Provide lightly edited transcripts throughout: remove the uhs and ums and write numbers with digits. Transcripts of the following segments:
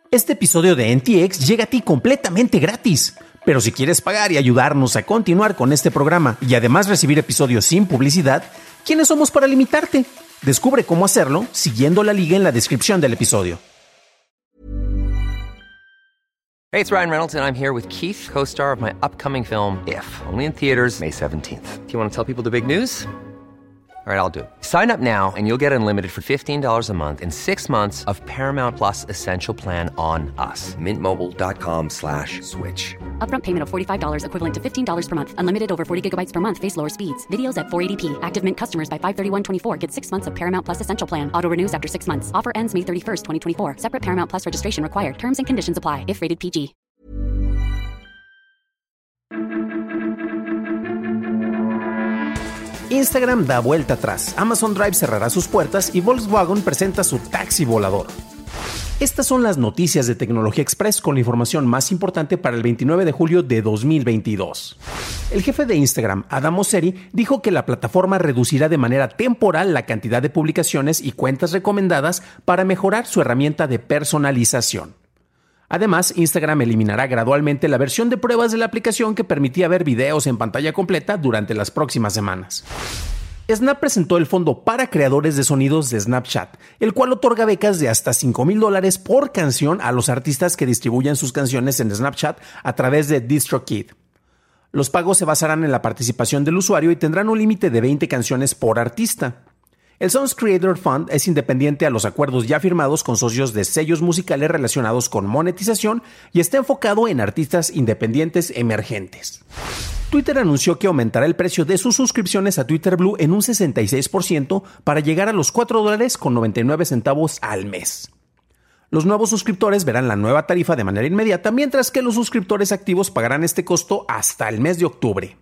Este episodio de NTX llega a ti completamente gratis. Pero si quieres pagar y ayudarnos a continuar con este programa y además recibir episodios sin publicidad, ¿quiénes somos para limitarte? Descubre cómo hacerlo siguiendo la liga en la descripción del episodio. Hey, it's Ryan Reynolds, and I'm here with Keith, co-star of my upcoming film, If, only in theaters May 17th. Do you want to tell people the big news? All right, I'll do it. Sign up now and you'll get unlimited for $15 a month and 6 months of Paramount Plus Essential Plan on us. MintMobile.com/switch. Upfront payment of $45 equivalent to $15 per month. Unlimited over 40 gigabytes per month. Face lower speeds. Videos at 480p. Active Mint customers by 531.24 get 6 months of Paramount Plus Essential Plan. Auto renews after 6 months. Offer ends May 31st, 2024. Separate Paramount Plus registration required. Terms and conditions apply if rated PG. Instagram da vuelta atrás, Amazon Drive cerrará sus puertas y Volkswagen presenta su taxi volador. Estas son las noticias de Tecnología Express con la información más importante para el 29 de julio de 2022. El jefe de Instagram, Adam Mosseri, dijo que la plataforma reducirá de manera temporal la cantidad de publicaciones y cuentas recomendadas para mejorar su herramienta de personalización. Además, Instagram eliminará gradualmente la versión de pruebas de la aplicación que permitía ver videos en pantalla completa durante las próximas semanas. Snap presentó el fondo para creadores de sonidos de Snapchat, el cual otorga becas de hasta $5,000 por canción a los artistas que distribuyan sus canciones en Snapchat a través de DistroKid. Los pagos se basarán en la participación del usuario y tendrán un límite de 20 canciones por artista. El Songs Creator Fund es independiente a los acuerdos ya firmados con socios de sellos musicales relacionados con monetización y está enfocado en artistas independientes emergentes. Twitter anunció que aumentará el precio de sus suscripciones a Twitter Blue en un 66% para llegar a los $4.99 al mes. Los nuevos suscriptores verán la nueva tarifa de manera inmediata, mientras que los suscriptores activos pagarán este costo hasta el mes de octubre.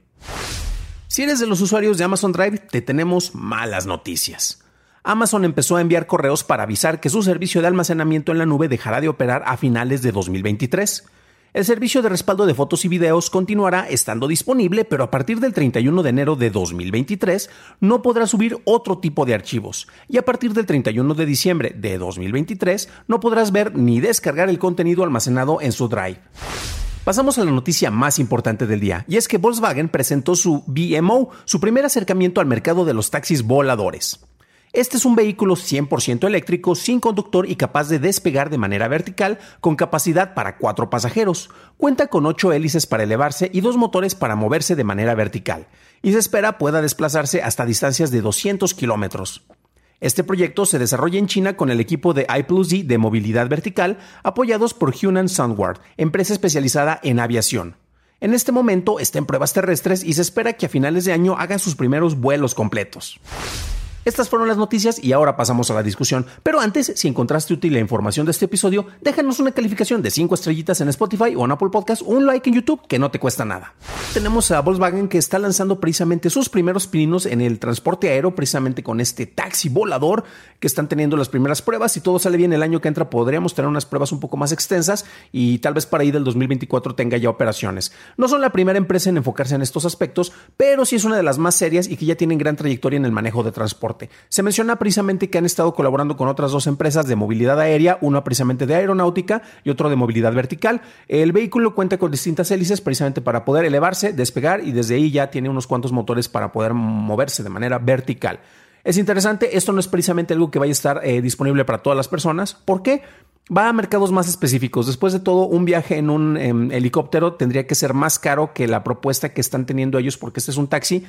Si eres de los usuarios de Amazon Drive, te tenemos malas noticias. Amazon empezó a enviar correos para avisar que su servicio de almacenamiento en la nube dejará de operar a finales de 2023. El servicio de respaldo de fotos y videos continuará estando disponible, pero a partir del 31 de enero de 2023 no podrá subir otro tipo de archivos. Y a partir del 31 de diciembre de 2023 no podrás ver ni descargar el contenido almacenado en su Drive. Pasamos a la noticia más importante del día, y es que Volkswagen presentó su VMO, su primer acercamiento al mercado de los taxis voladores. Este es un vehículo 100% eléctrico, sin conductor y capaz de despegar de manera vertical, con capacidad para 4 pasajeros. Cuenta con 8 hélices para elevarse y 2 motores para moverse de manera vertical, y se espera pueda desplazarse hasta distancias de 200 kilómetros. Este proyecto se desarrolla en China con el equipo de I+D de movilidad vertical, apoyados por Hunan Soundward, empresa especializada en aviación. En este momento está en pruebas terrestres y se espera que a finales de año hagan sus primeros vuelos completos. Estas fueron las noticias y ahora pasamos a la discusión. Pero antes, si encontraste útil la información de este episodio, déjanos una calificación de 5 estrellitas en Spotify o en Apple Podcast o un like en YouTube que no te cuesta nada. Tenemos a Volkswagen que está lanzando precisamente sus primeros pininos en el transporte aéreo, precisamente con este taxi volador que están teniendo las primeras pruebas. Si todo sale bien el año que entra podríamos tener unas pruebas un poco más extensas y tal vez para ahí del 2024 tenga ya operaciones. No son la primera empresa en enfocarse en estos aspectos, pero sí es una de las más serias y que ya tienen gran trayectoria en el manejo de transporte. Se menciona precisamente que han estado colaborando con otras 2 empresas de movilidad aérea, una precisamente de aeronáutica y otro de movilidad vertical. El vehículo cuenta con distintas hélices precisamente para poder elevarse, despegar y desde ahí ya tiene unos cuantos motores para poder moverse de manera vertical. Es interesante, esto no es precisamente algo que vaya a estar disponible para todas las personas. ¿Por qué? Va a mercados más específicos. Después de todo, un viaje en un helicóptero tendría que ser más caro que la propuesta que están teniendo ellos, porque este es un taxi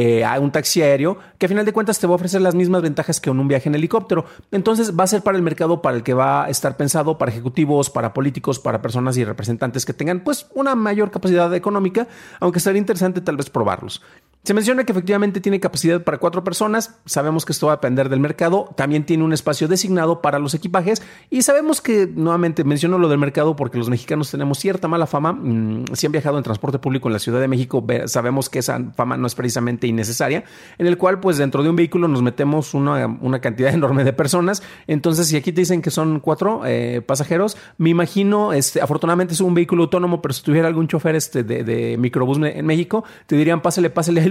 aéreo, que a final de cuentas te va a ofrecer las mismas ventajas que en un viaje en helicóptero. Entonces va a ser para el mercado para el que va a estar pensado, para ejecutivos, para políticos, para personas y representantes que tengan pues una mayor capacidad económica, aunque sería interesante tal vez probarlos. Se menciona que efectivamente tiene capacidad para 4 personas, sabemos que esto va a depender del mercado, también tiene un espacio designado para los equipajes y sabemos que, nuevamente menciono lo del mercado porque los mexicanos tenemos cierta mala fama, si han viajado en transporte público en la Ciudad de México sabemos que esa fama no es precisamente innecesaria, en el cual pues dentro de un vehículo nos metemos una cantidad enorme de personas, entonces si aquí te dicen que son 4 pasajeros, me imagino, afortunadamente es un vehículo autónomo, pero si tuviera algún chofer de microbús en México, te dirían pásale al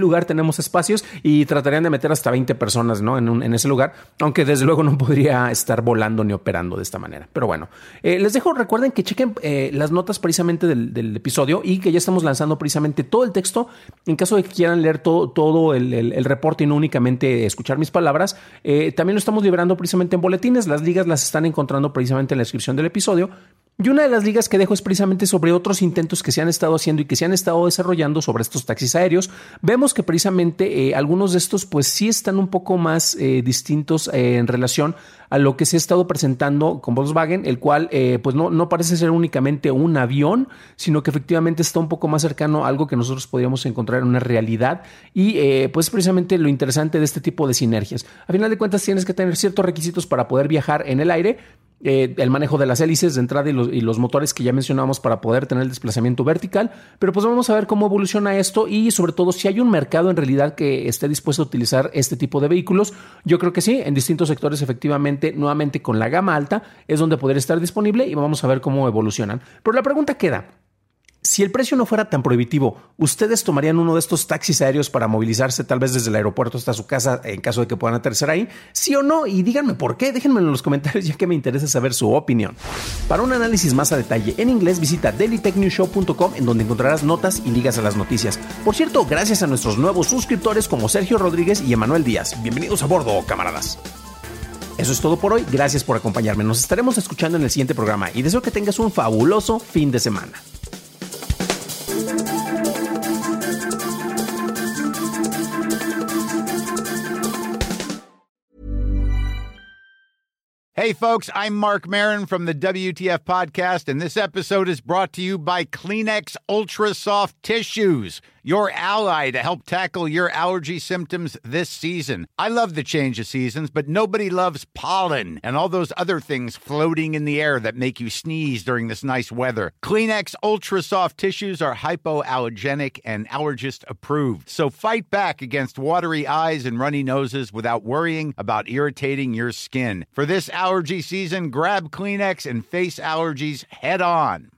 lugar tenemos espacios y tratarían de meter hasta 20 personas, ¿no? en ese lugar, aunque desde luego no podría estar volando ni operando de esta manera. Pero bueno, les dejo, recuerden que chequen las notas precisamente del episodio y que ya estamos lanzando precisamente todo el texto en caso de que quieran leer todo el reporte y no únicamente escuchar mis palabras. También lo estamos liberando precisamente en boletines. Las ligas las están encontrando precisamente en la descripción del episodio. Y una de las ligas que dejo es precisamente sobre otros intentos que se han estado haciendo y que se han estado desarrollando sobre estos taxis aéreos. Vemos que precisamente algunos de estos pues sí están un poco más distintos en relación a lo que se ha estado presentando con Volkswagen, el cual pues no parece ser únicamente un avión, sino que efectivamente está un poco más cercano a algo que nosotros podríamos encontrar en una realidad y pues precisamente lo interesante de este tipo de sinergias. A final de cuentas tienes que tener ciertos requisitos para poder viajar en el aire. El manejo de las hélices de entrada y los motores que ya mencionamos para poder tener el desplazamiento vertical, pero pues vamos a ver cómo evoluciona esto y sobre todo si hay un mercado en realidad que esté dispuesto a utilizar este tipo de vehículos. Yo creo que sí, en distintos sectores efectivamente, nuevamente con la gama alta es donde podría estar disponible y vamos a ver cómo evolucionan. Pero la pregunta queda: si el precio no fuera tan prohibitivo, ¿ustedes tomarían uno de estos taxis aéreos para movilizarse tal vez desde el aeropuerto hasta su casa en caso de que puedan aterrizar ahí? ¿Sí o no? Y díganme por qué, déjenmelo en los comentarios ya que me interesa saber su opinión. Para un análisis más a detalle en inglés visita dailytechnewshow.com en donde encontrarás notas y ligas a las noticias. Por cierto, gracias a nuestros nuevos suscriptores como Sergio Rodríguez y Emanuel Díaz. Bienvenidos a bordo, camaradas. Eso es todo por hoy, gracias por acompañarme. Nos estaremos escuchando en el siguiente programa y deseo que tengas un fabuloso fin de semana. Hey, folks, I'm Mark Maron from the WTF Podcast, and this episode is brought to you by Kleenex Ultra Soft Tissues, your ally to help tackle your allergy symptoms this season. I love the change of seasons, but nobody loves pollen and all those other things floating in the air that make you sneeze during this nice weather. Kleenex Ultra Soft Tissues are hypoallergenic and allergist approved, so fight back against watery eyes and runny noses without worrying about irritating your skin. For this allergy season, grab Kleenex and face allergies head on.